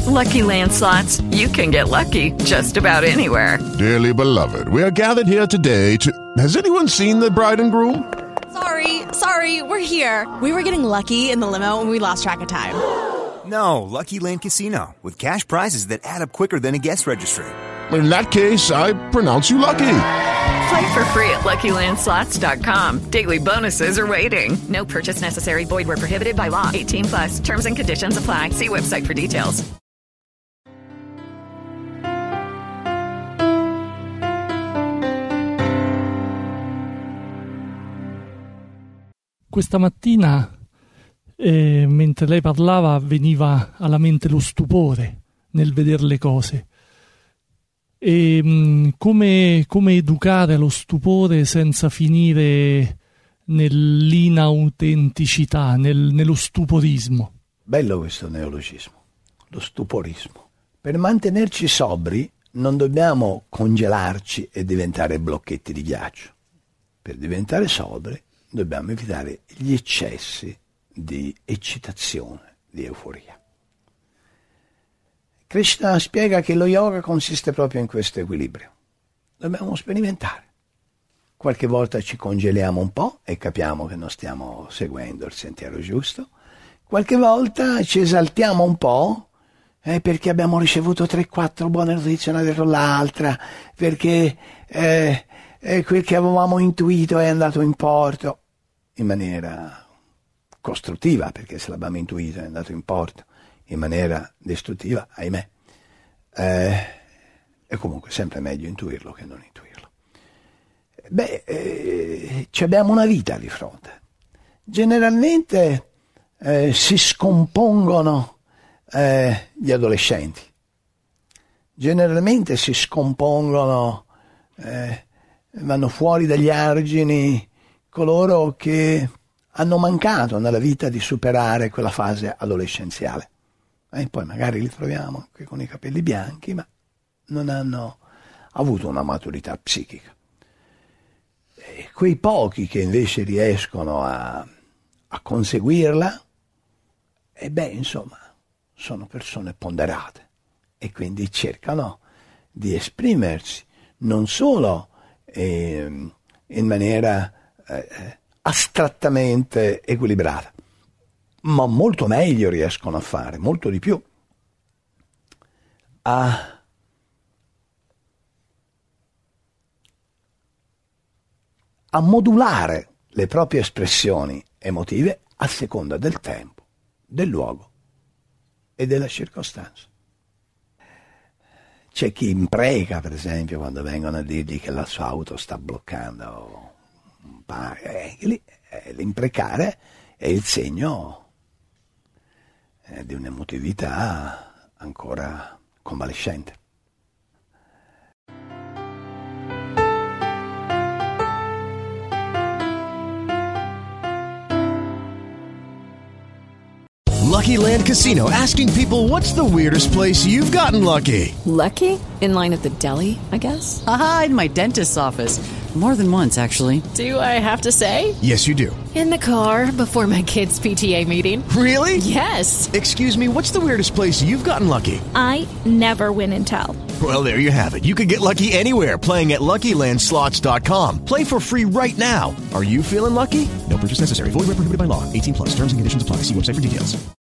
Lucky Land Slots, you can get lucky just about anywhere. Dearly beloved, we are gathered here today to... Has anyone seen the bride and groom? Sorry, we're here. We were getting lucky in the limo and we lost track of time. No, Lucky Land Casino, with cash prizes that add up quicker than a guest registry. In that case, I pronounce you lucky. Play for free at LuckyLandSlots.com. Daily bonuses are waiting. No purchase necessary. Void where prohibited by law. 18+. Terms and conditions apply. See website for details. Questa mattina, mentre lei parlava, veniva alla mente lo stupore nel vedere le cose. E come educare lo stupore senza finire nell'inautenticità, nello stuporismo. Bello questo neologismo, lo stuporismo. Per mantenerci sobri non dobbiamo congelarci e diventare blocchetti di ghiaccio. Per diventare sobri dobbiamo evitare gli eccessi di eccitazione, di euforia. Krishna spiega che lo yoga consiste proprio in questo equilibrio. Dobbiamo sperimentare. Qualche volta ci congeliamo un po' e capiamo che non stiamo seguendo il sentiero giusto. Qualche volta ci esaltiamo un po' perché abbiamo ricevuto 3-4 buone notizie una dietro l'altra, perché quel che avevamo intuito è andato in porto in maniera costruttiva, perché se l'abbiamo intuito è andato in porto in maniera distruttiva, ahimè. È comunque sempre meglio intuirlo che non intuirlo. Ci abbiamo una vita di fronte. Generalmente si scompongono gli adolescenti. Generalmente si scompongono, vanno fuori dagli argini coloro che hanno mancato nella vita di superare quella fase adolescenziale. Poi magari li troviamo anche con i capelli bianchi, ma non hanno avuto una maturità psichica. E quei pochi che invece riescono a conseguirla, insomma, sono persone ponderate e quindi cercano di esprimersi non solo in maniera astrattamente equilibrata, ma molto meglio riescono a fare, molto di più, a modulare le proprie espressioni emotive a seconda del tempo, del luogo e della circostanza. C'è chi impreca, per esempio, quando vengono a dirgli che la sua auto sta bloccando. L'imprecare è il segno di un'emotività ancora convalescente. Lucky Land Casino, asking people, what's the weirdest place you've gotten lucky? Lucky? In line at the deli, I guess? Aha, in my dentist's office. More than once, actually. Do I have to say? Yes, you do. In the car before my kids' PTA meeting. Really? Yes. Excuse me, what's the weirdest place you've gotten lucky? I never win and tell. Well, there you have it. You can get lucky anywhere, playing at LuckyLandSlots.com. Play for free right now. Are you feeling lucky? No purchase necessary. Void where prohibited by law. 18+. Terms and conditions apply. See website for details.